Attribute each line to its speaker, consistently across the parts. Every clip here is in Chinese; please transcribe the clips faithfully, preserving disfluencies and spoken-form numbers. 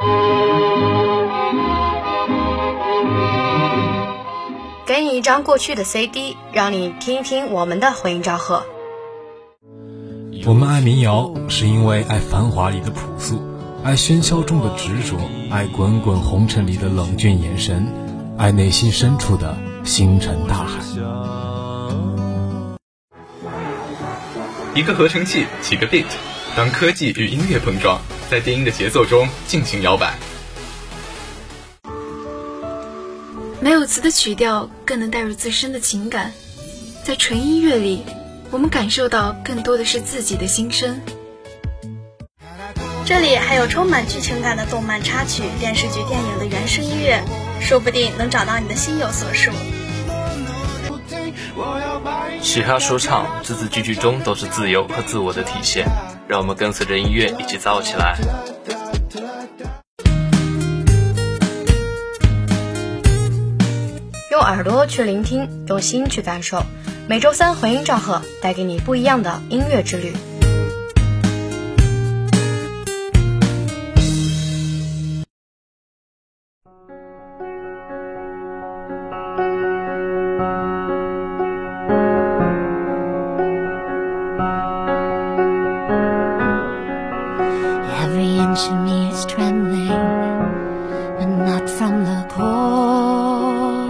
Speaker 1: 给你一张过去的 C D， 让你听一听我们的回音赵贺。
Speaker 2: 我们爱民谣，是因为爱繁华里的朴素，爱喧嚣中的执着，爱滚滚红尘里的冷峻眼神，爱内心深处的星辰大海。
Speaker 3: 一个合成器，几个 beat， 当科技与音乐碰撞，在电音的节奏中尽情摇摆。
Speaker 4: 没有词的曲调更能带入自身的情感，在纯音乐里，我们感受到更多的是自己的心声。
Speaker 5: 这里还有充满剧情感的动漫插曲、电视剧、电影的原声音乐，说不定能找到你的心有所属。
Speaker 6: 嘻哈说唱字字句句中都是自由和自我的体现，让我们跟随着音乐一起造起来。
Speaker 1: 用耳朵去聆听，用心去感受。每周三回音赵贺带给你不一样的音乐之旅。
Speaker 7: Every inch of me is trembling, but not from the cold.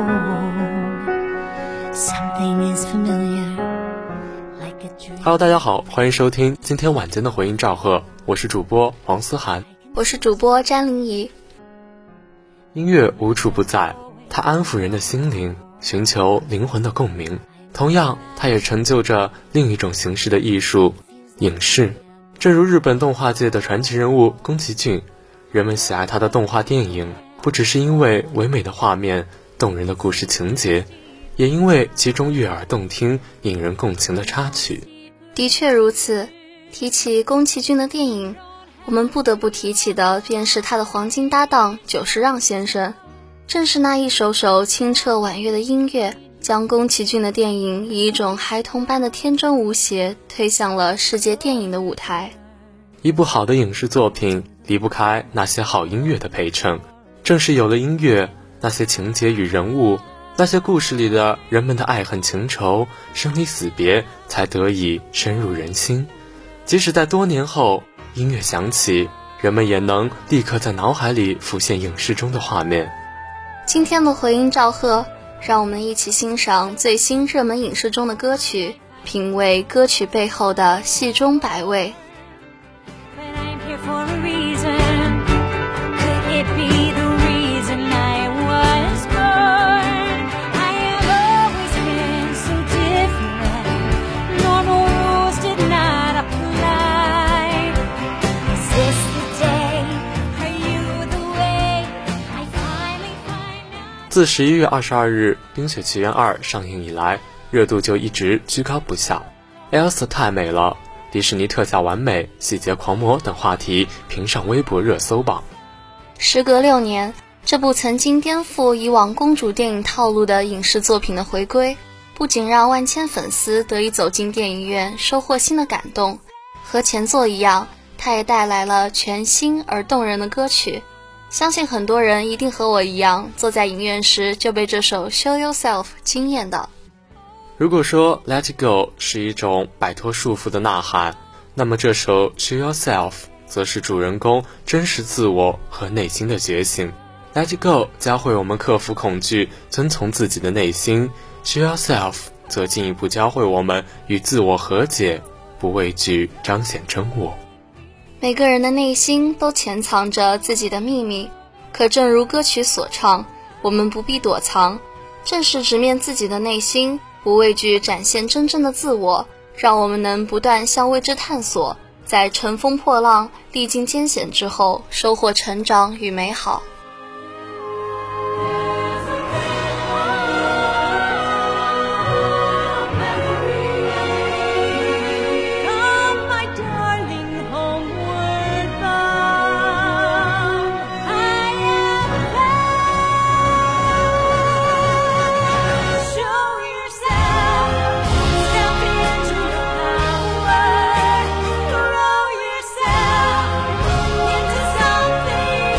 Speaker 7: Something is familiar, like a dream.
Speaker 8: Hello， 大家好，欢迎收听今天晚间的回音赵贺，我是主播黄思涵，
Speaker 5: 我是主播詹玲怡。
Speaker 8: 音乐无处不在，它安抚人的心灵，寻求灵魂的共鸣。同样，它也成就着另一种形式的艺术——影视。正如日本动画界的传奇人物宫崎骏，人们喜爱他的动画电影，不只是因为唯美的画面、动人的故事情节，也因为其中悦耳动听、引人共情的插曲。
Speaker 5: 的确如此，提起宫崎骏的电影，我们不得不提起的便是他的黄金搭档久石让先生。正是那一首首清澈婉约的音乐，将宫崎骏的电影以一种孩童般的天真无邪推向了世界电影的舞台。
Speaker 8: 一部好的影视作品离不开那些好音乐的陪衬，正是有了音乐，那些情节与人物，那些故事里的人们的爱恨情仇、生离死别才得以深入人心。即使在多年后，音乐响起，人们也能立刻在脑海里浮现影视中的画面。
Speaker 5: 今天的回音赵贺，让我们一起欣赏最新热门影视中的歌曲，品味歌曲背后的戏中百味。
Speaker 8: 自十一月二十二日《冰雪奇缘二》上映以来，热度就一直居高不下。Elsa 太美了，迪士尼特效完美，细节狂魔等话题评上微博热搜榜。
Speaker 5: 时隔六年，这部曾经颠覆以往公主电影套路的影视作品的回归，不仅让万千粉丝得以走进电影院，收获新的感动，和前作一样，它也带来了全新而动人的歌曲。相信很多人一定和我一样，坐在影院时就被这首 Show Yourself 惊艳到。
Speaker 8: 如果说 Let It Go 是一种摆脱束缚的呐喊，那么这首 Show Yourself 则是主人公真实自我和内心的觉醒。 Let It Go 教会我们克服恐惧，遵从自己的内心， Show Yourself 则进一步教会我们与自我和解，不畏惧彰显真我。
Speaker 5: 每个人的内心都潜藏着自己的秘密，可正如歌曲所唱，我们不必躲藏，正是直面自己的内心，不畏惧展现真正的自我，让我们能不断向未知探索，在乘风破浪、历经艰险之后，收获成长与美好。
Speaker 7: Something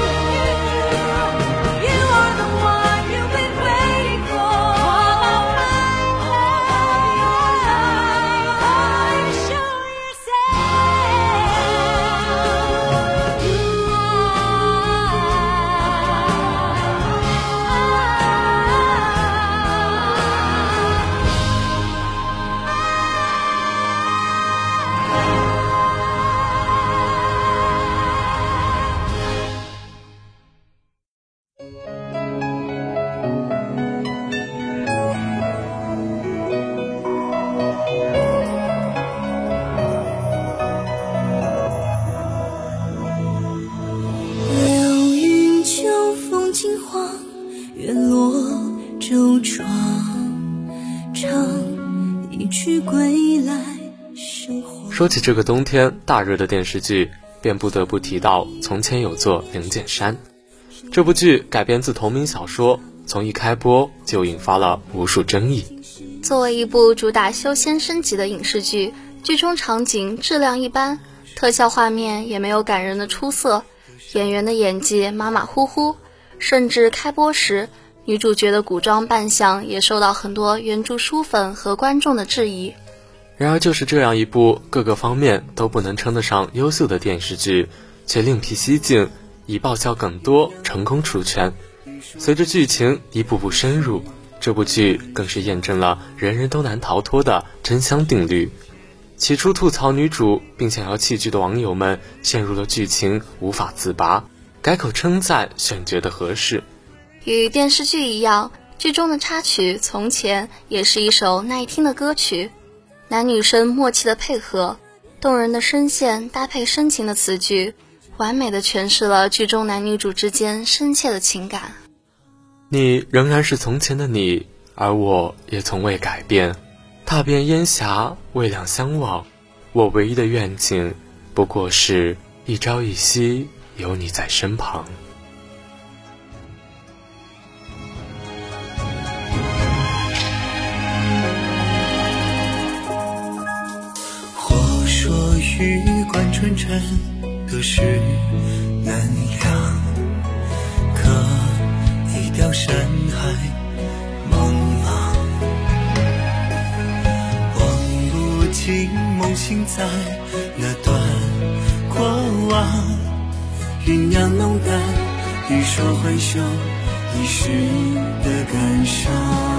Speaker 8: 说起这个冬天大热的电视剧，便不得不提到从前有座灵剑山。这部剧改编自同名小说，从一开播就引发了无数争议。
Speaker 5: 作为一部主打修仙升级的影视剧，剧中场景质量一般，特效画面也没有感人的出色，演员的演技马马虎虎，甚至开播时女主角的古装扮相也受到很多原著书粉和观众的质疑。
Speaker 8: 然而就是这样一部各个方面都不能称得上优秀的电视剧，却另辟蹊径，以爆笑梗多成功出圈。随着剧情一步步深入，这部剧更是验证了人人都难逃脱的真香定律。起初吐槽女主并想要弃剧的网友们陷入了剧情无法自拔，改口称赞选角的合适。
Speaker 5: 与电视剧一样，剧中的插曲《从前》也是一首耐听的歌曲，男女生默契的配合，动人的声线搭配深情的词句，完美的诠释了剧中男女主之间深切的情感。
Speaker 8: 你仍然是从前的你，而我也从未改变。踏遍烟霞，未两相望，我唯一的愿景不过是一朝一夕有你在身旁。
Speaker 9: 或说玉贯春尘都是难量，可一条深海茫茫，望不尽梦醒在那段过往，酝酿浓淡，欲说还休一时的感伤。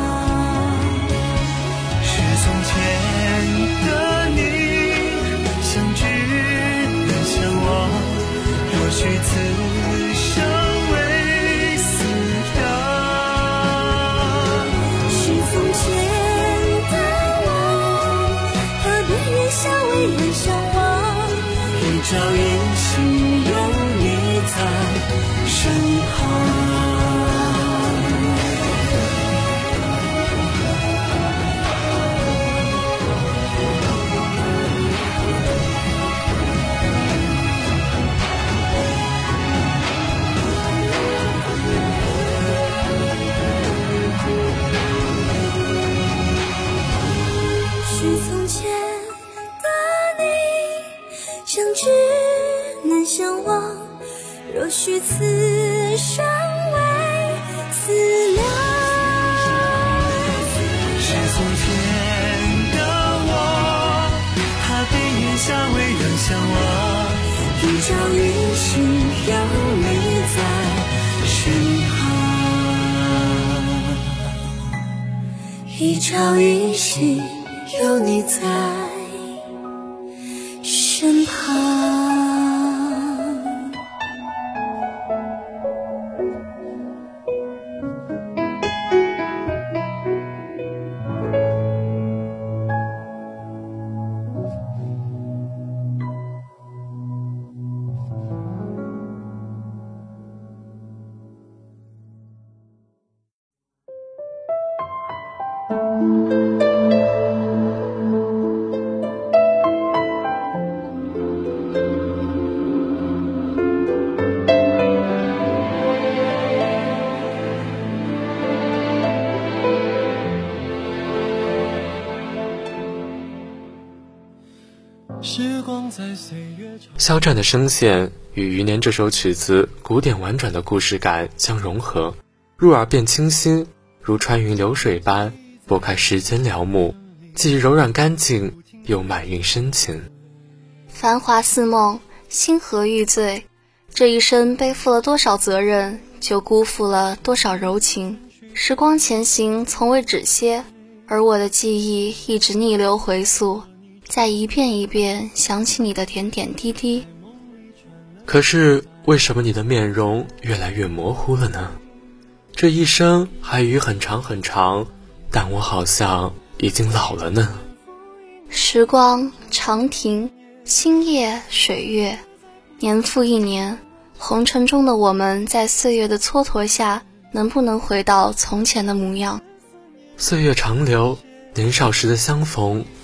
Speaker 9: 是从前的你相知难相忘，若许此生为思量。
Speaker 7: 是从前的我，何必愿相为人相忘？
Speaker 9: 一朝一夕有你在身旁。
Speaker 7: 若许此生为思量，
Speaker 9: 是从前的我，他比月下为人相望。
Speaker 7: 一朝一夕有你在身旁，一朝一夕有你在身旁。
Speaker 8: 肖战的声线与余年这首曲子古典婉转的故事感相融合，入耳便清新，如穿云流水般拨开时间辽幕，既柔软干净又满蕴深情。
Speaker 5: 繁华似梦，星河欲醉，这一生背负了多少责任，就辜负了多少柔情。时光前行从未止歇，而我的记忆一直逆流回溯，在一遍一遍想起你的点点滴滴。
Speaker 8: 可是为什么你的面容越来越模糊了呢？这一生还余很长很长，但我好像已经老了呢。
Speaker 5: 时光长亭，星夜水月，年复一年，红尘中的我们在岁月的蹉跎下，能不能回到从前的模样？
Speaker 8: 岁月长流，年少时的相逢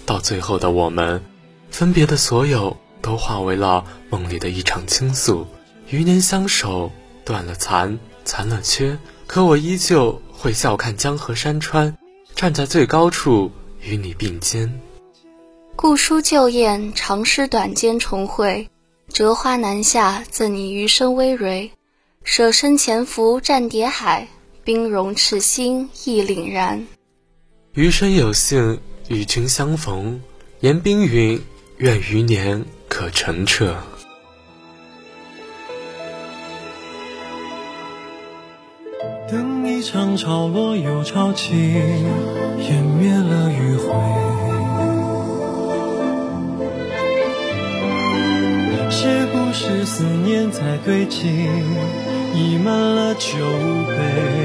Speaker 8: 到最后的我们，分别的所有都化为了梦里的一场倾诉。余年相守，断了残，残了缺，可我依旧会笑看江河山川，站在最高处与你并肩。
Speaker 5: 故书旧宴，长诗短笺重会，折花南下，赠你余生微蕊。舍身潜伏战叠海，冰融赤心亦凛然。
Speaker 8: 余生有幸与君相逢，言冰云，愿余年可澄澈。
Speaker 9: 等一场潮落又潮起，湮灭了余晖。是不是思念在堆积，溢满了酒杯？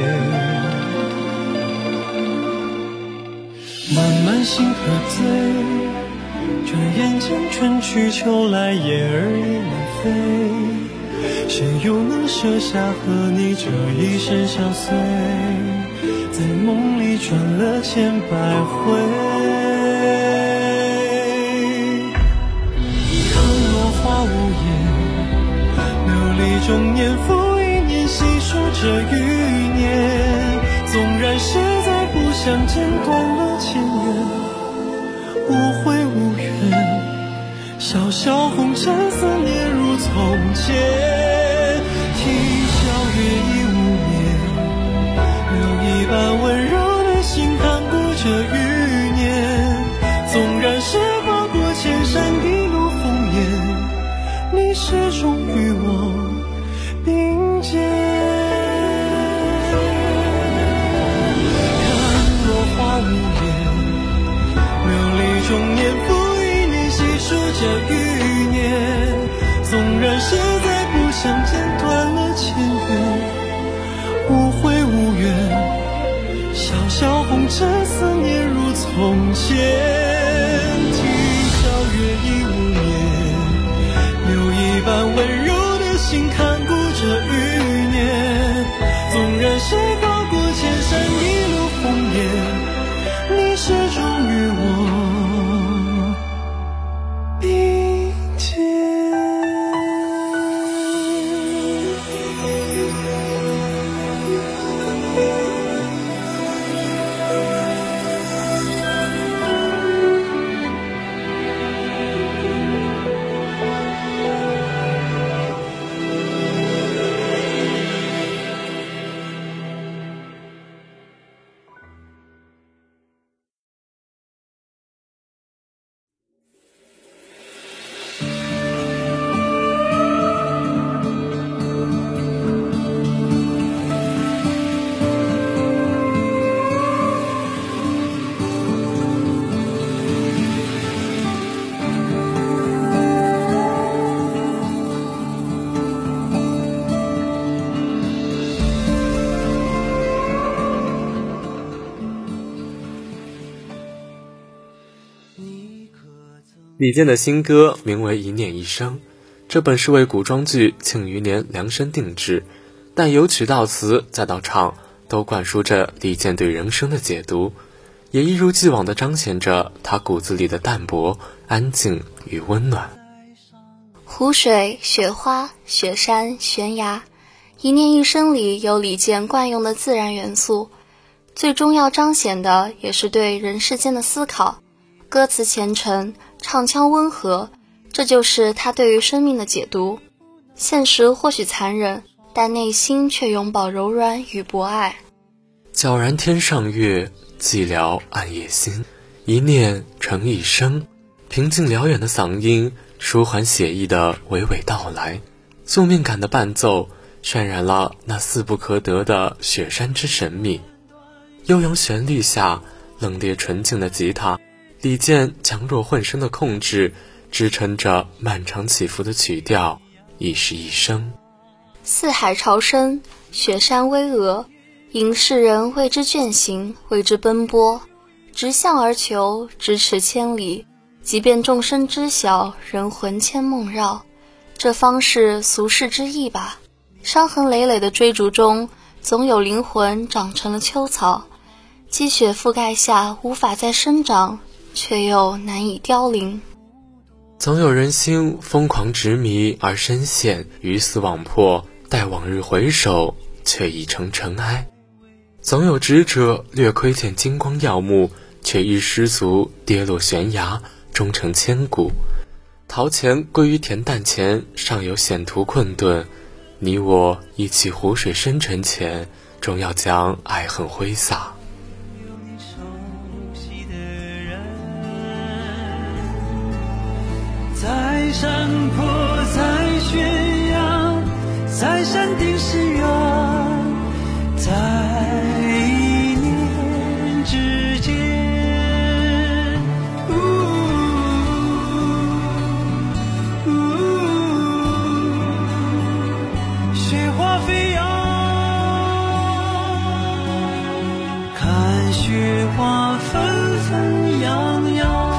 Speaker 9: 慢慢心喝醉，转眼间春去秋来，雁儿已南飞。谁又能舍下和你这一生相随，在梦里转了千百回。看落花无言，流离中年复一年，细数这余年。纵然实在不相见，断了前缘，无悔无怨，潇潇红尘，思念如从前。啼笑月已无眠，留一半温柔的心看顾这余年。纵然是跨过千山一路烽烟，你始终与我并肩。看落花无言，流离中年复一年，细数这余年。纵然实在不相见，断了前缘，无悔无怨，潇潇红尘，思念如从前。啼笑月已无眠，留一半温柔的心看顾这余年。纵然是跨过千山一路烽烟，你始终与我并肩。
Speaker 8: 李健的新歌名为《一念一生》，这本是为古装剧《庆余年》量身定制，但由曲到词再到唱，都灌输着李健对人生的解读，也一如既往地彰显着他骨子里的淡泊、安静与温暖。
Speaker 5: 湖水、雪花、雪山、悬崖，一念一生里有李健惯用的自然元素，最终要彰显的也是对人世间的思考。歌词虔诚，唱腔温和，这就是他对于生命的解读。现实或许残忍，但内心却永葆柔软与博爱。
Speaker 8: 皎然天上月，寂寥暗夜心，一念成一生。平静辽远的嗓音，舒缓写意的娓娓道来，宿命感的伴奏渲染了那似不可得的雪山之神秘。悠扬旋律下，冷冽纯净的吉他，李健强弱混声的控制，支撑着漫长起伏的曲调，亦是一生。
Speaker 5: 四海潮生，雪山巍峨，引世人为之践行，为之奔波，直向而求，咫尺千里。即便众生知晓，仍魂牵梦绕，这方是俗世之意吧。伤痕累累的追逐中，总有灵魂长成了秋草，积雪覆盖下无法再生长， 却又难以凋零。
Speaker 8: 总有人心疯狂执迷而深陷，鱼死网破，待往日回首，却已成尘埃。总有执者略窥见金光耀目，却一失足跌落悬崖，终成千古。陶钱归于恬淡前，尚有险途困顿。你我一起湖水深沉前，终要将爱恨挥洒。
Speaker 9: 在山坡，在悬崖，在山顶是缘，在一念之间。呜呜，雪花飞扬，看雪花纷纷扬扬。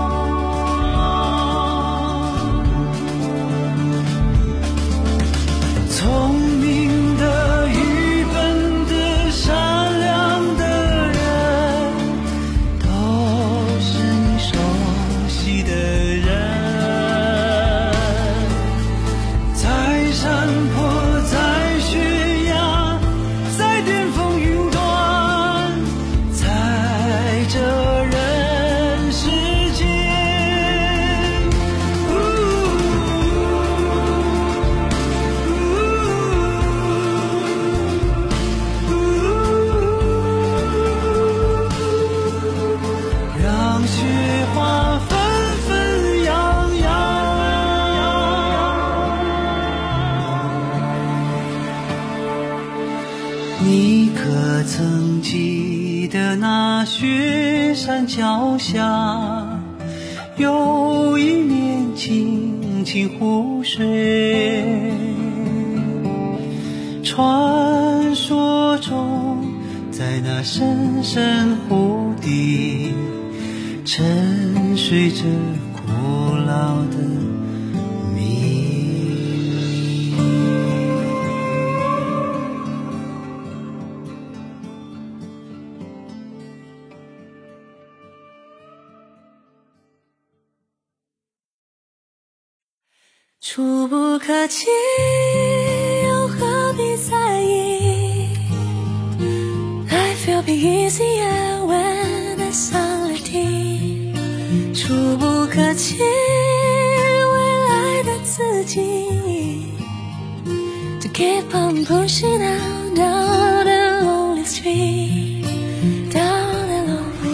Speaker 9: 你可曾记得那雪山脚下有一面清清湖水，传说中在那深深湖底沉睡着古老的
Speaker 7: 触不可及，又何必在意 Life will be easier when it's solidity 触不可及，未来的自己 To keep on pushing down, down the lonely street Down the lonely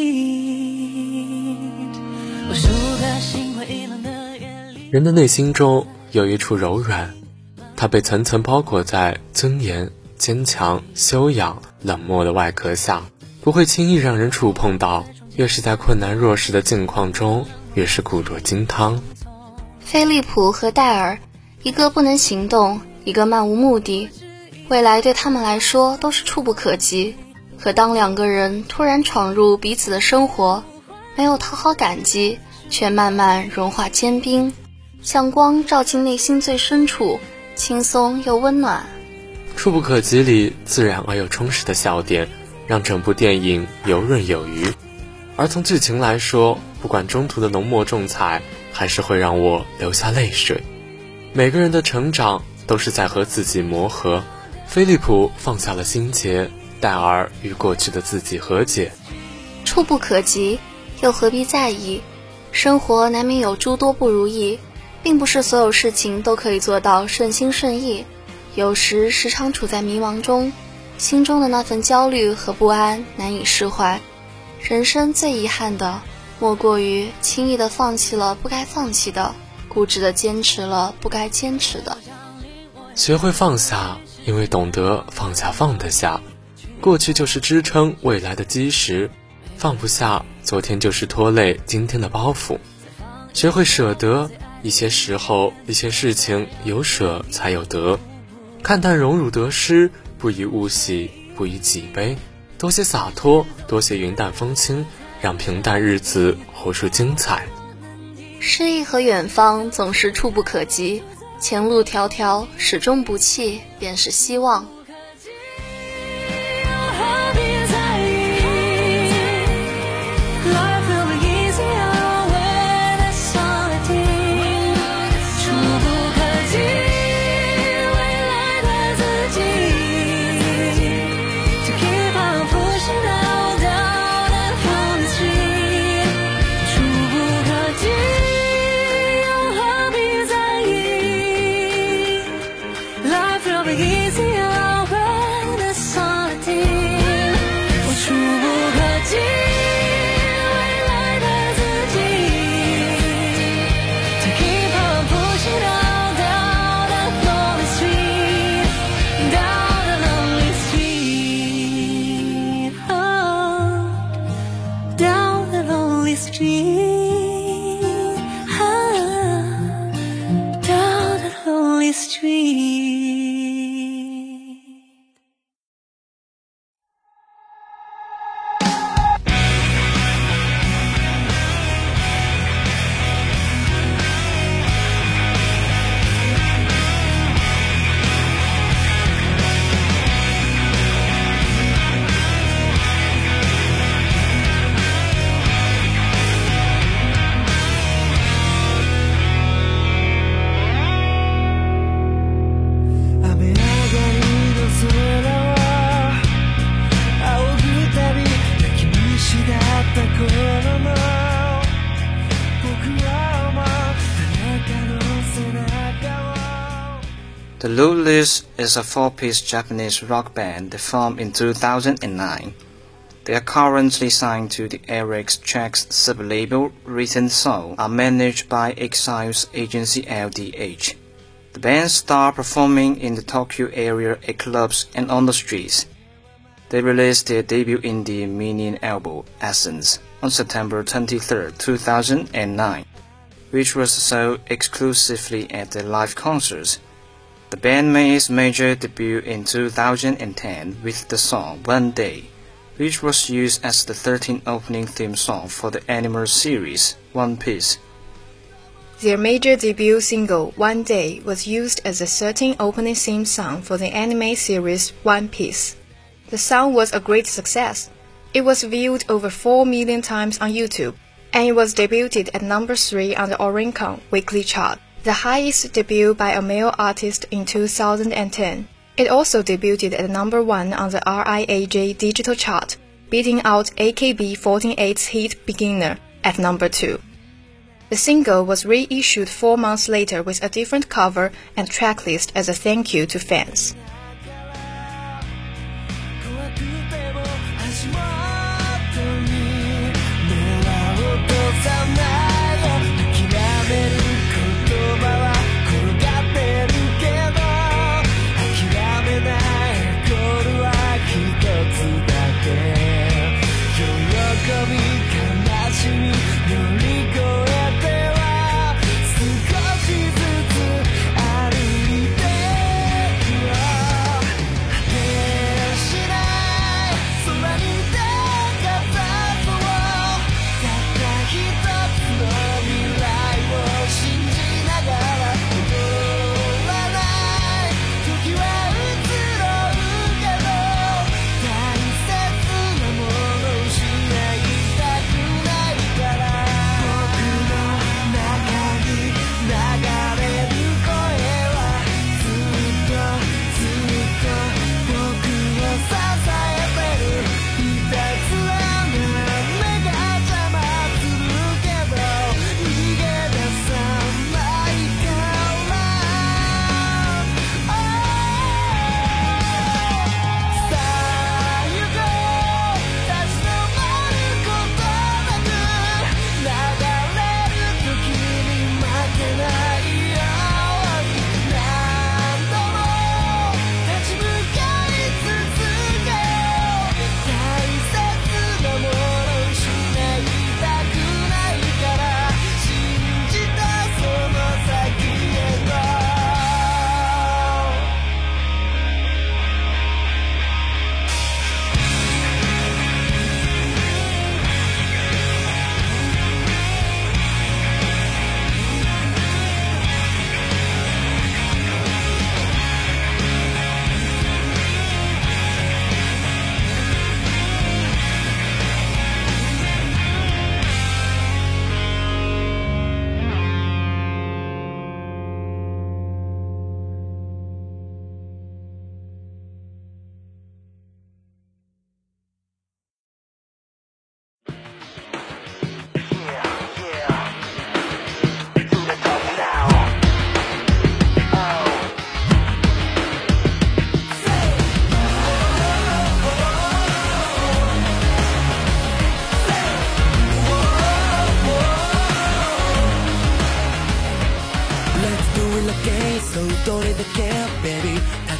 Speaker 7: street 无数个心灰意冷的
Speaker 8: 人的内心中有一处柔软，它被层层包裹在尊严、坚强、修养、冷漠的外壳下，不会轻易让人触碰到。越是在困难弱势的境况中，越是固若金汤。
Speaker 5: 菲利普和戴尔，一个不能行动，一个漫无目的，未来对他们来说都是触不可及。可当两个人突然闯入彼此的生活，没有讨好感激，却慢慢融化坚冰，像光照进内心最深处，轻松又温暖。
Speaker 8: 触不可及里自然而又充实的笑点，让整部电影游刃有余。而从剧情来说，不管中途的浓墨重彩，还是会让我流下泪水。每个人的成长都是在和自己磨合。菲利普放下了心结，戴尔与过去的自己和解。
Speaker 5: 触不可及，又何必在意？生活难免有诸多不如意，并不是所有事情都可以做到顺心顺意，有时时常处在迷茫中，心中的那份焦虑和不安难以释怀。人生最遗憾的，莫过于轻易的放弃了不该放弃的，固执的坚持了不该坚持的。
Speaker 8: 学会放下，因为懂得放下放得下。过去就是支撑未来的基石，放不下昨天就是拖累今天的包袱。学会舍得，一些时候一些事情有舍才有得。看淡荣辱得失，不以物喜，不以己悲，多些洒脱，多些云淡风轻，让平淡日子活出精彩。
Speaker 5: 诗意和远方总是触不可及，前路迢迢，始终不弃便是希望。
Speaker 7: Life will be be easier when it's on a team。我触不可及未来的自己。To keep on pushing on down that lonely street, down the lonely street, oh, down the lonely street. Street.
Speaker 10: The Lulus is a four-piece Japanese rock band that formed in two thousand nine. They are currently signed to the Eric's Tracks sub-label. Recent songs are managed by Exile's agency L D H. The band started performing in the Tokyo area at clubs and on the streets. They released their debut indie mini album, Essence, on September twenty-third, two thousand nine, which was sold exclusively at their live concerts. The band made its major debut in two thousand ten with the song One Day, which was used as the thirteenth opening theme song for the anime series One Piece.
Speaker 1: Their major debut single, One Day, was used as the thirteenth opening theme song for the anime series One Piece. The song was a great success. It was viewed over four million times on YouTube, and it was debuted at number three on the Oricon weekly chart, the highest debut by a male artist in two thousand ten. It also debuted at number one on the R I A J digital chart, beating out A K B forty-eight's hit Beginner at number two. The single was reissued four months later with a different cover and tracklist as a thank you to fans.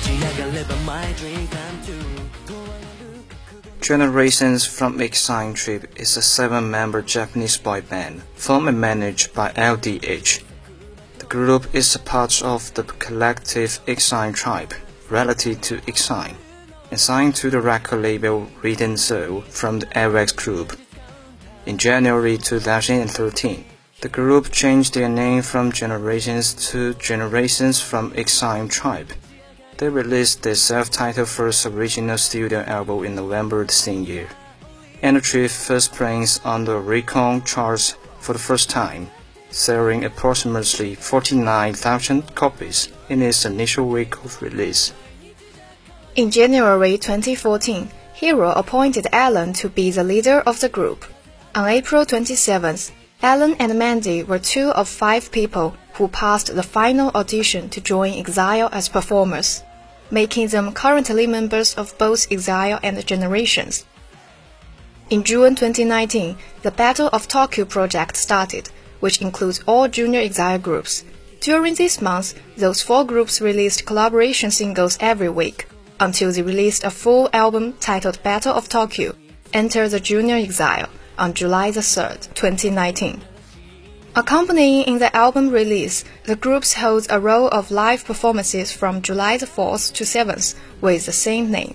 Speaker 10: Generations from Exile Tribe is a seven-member Japanese boy band formed and managed by L D H. The group is a part of the collective Exile Tribe, relative to Exile, and signed to the record label Rhythm Soul from the Avex Group. In January two thousand thirteen, the group changed their name from Generations to Generations from Exile Tribe. They released their self-titled first original studio album in November the same year, and achieved first place on the Oricon charts for the first time, selling approximately forty-nine thousand copies in its initial week of release.
Speaker 1: In January twenty fourteen, Hero appointed Alan to be the leader of the group. On April twenty-seventh, Alan and Mandy were two of five people who passed the final audition to join Exile as performers, making them currently members of both Exile and Generations. In June twenty nineteen, the Battle of Tokyo project started, which includes all junior Exile groups. During this month, those four groups released collaboration singles every week, until they released a full album titled Battle of Tokyo, Enter the Junior Exile, on July the third, twenty nineteen. Accompanying in the album release, the groups hold a row of live performances from July the fourth to seventh with the same name.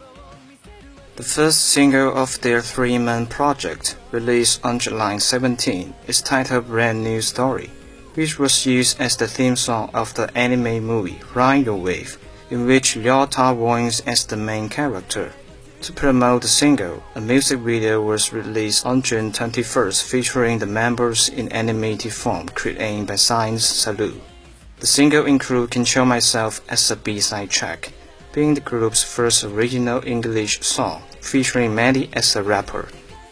Speaker 10: The first single of their three-man project, released on July seventeenth, is titled Brand New Story, which was used as the theme song of the anime movie Ride Your Wave, in which Ryota voiced as the main character. To promote the single, a music video was released on June twenty-first featuring the members in animated form created by Science Salute. The single includes Control Myself as a B-side track, being the group's first original English song, featuring Mandy as a rapper.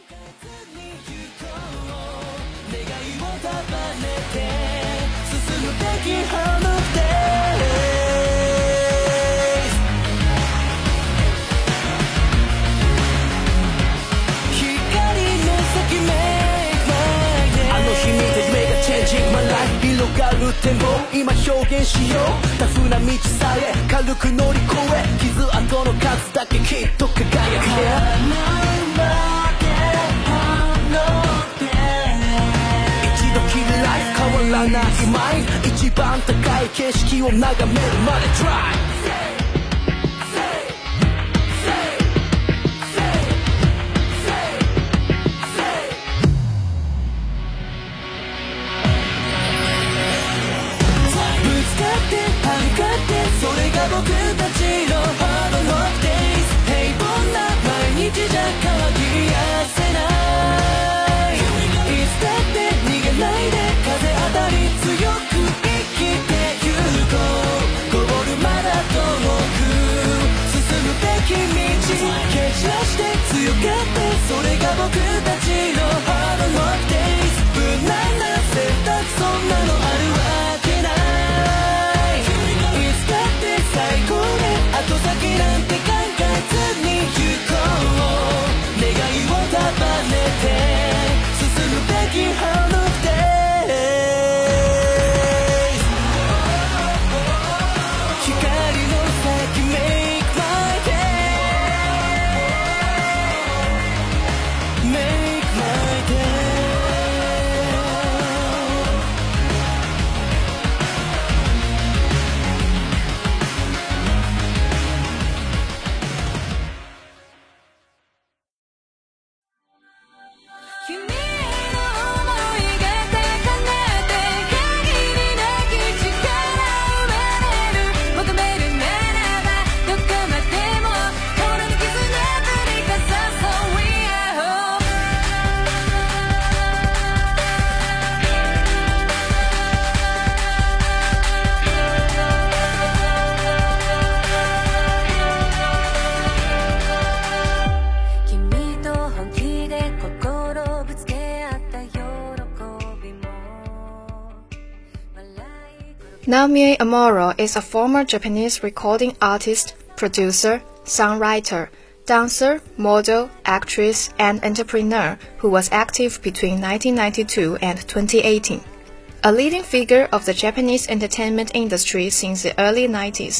Speaker 1: Naomi Amuro is a former Japanese recording artist, producer, songwriter, dancer, model, actress, and entrepreneur who was active between nineteen ninety-two and twenty eighteen. A leading figure of the Japanese entertainment industry since the early nineties,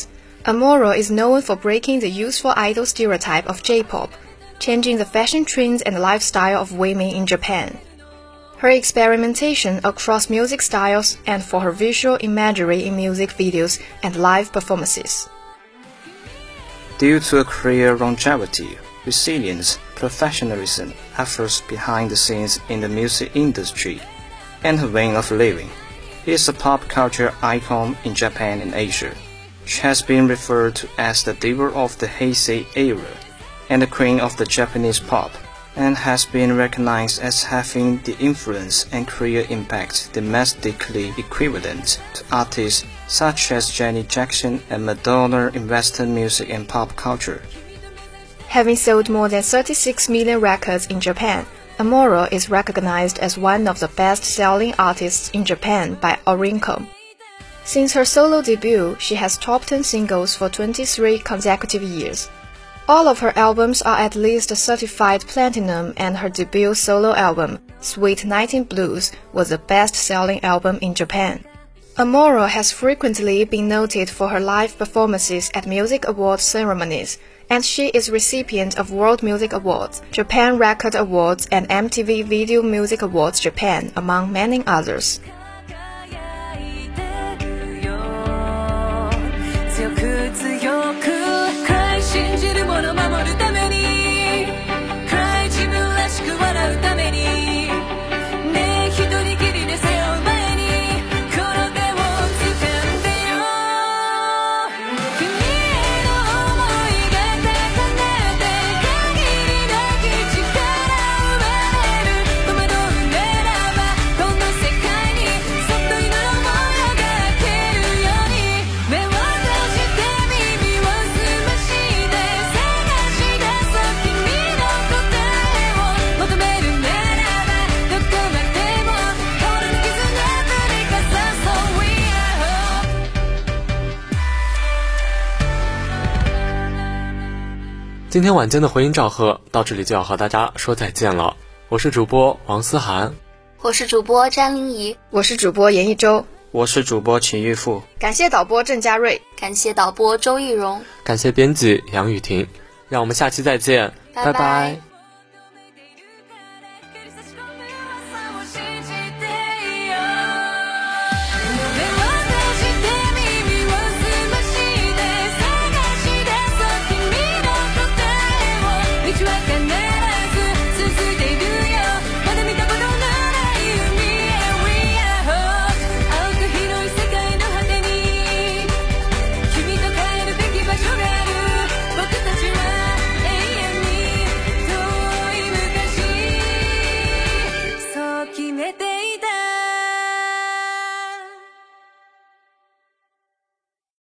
Speaker 1: Amuro is known for breaking the youthful idol stereotype of J-pop, changing the fashion trends and lifestyle of women in Japan. Her experimentation across music styles and for her visual imagery in music videos and live performances.
Speaker 10: Due to a career longevity, resilience, professionalism, efforts behind the scenes in the music industry, and her way of living, she is a pop culture icon in Japan and Asia. She has been referred to as the diva of the Heisei era and the queen of the Japanese pop, and has been recognized as having the influence and career impact domestically equivalent to artists such as Janet Jackson and Madonna in Western music and pop culture.
Speaker 1: Having sold more than thirty-six million records in Japan, Amuro is recognized as one of the best-selling artists in Japan by Oricon. Since her solo debut, she has top ten singles for twenty-three consecutive years. All of her albums are at least certified platinum, and her debut solo album, Sweet nineteen Blues, was the best-selling album in Japan. Amuro has frequently been noted for her live performances at music awards ceremonies, and she is recipient of World Music Awards, Japan Record Awards, and M T V Video Music Awards Japan, among many others.
Speaker 8: 今天晚间的回音赵贺到这里就要和大家说再见了。我是主播王思涵，
Speaker 5: 我是主播詹玲怡，
Speaker 1: 我是主播严一周，
Speaker 10: 我是主播秦玉富。
Speaker 1: 感谢导播郑嘉瑞，
Speaker 5: 感谢导播周艺荣，
Speaker 8: 感谢编辑杨雨婷。让我们下期再见，
Speaker 5: 拜拜。
Speaker 8: 拜拜。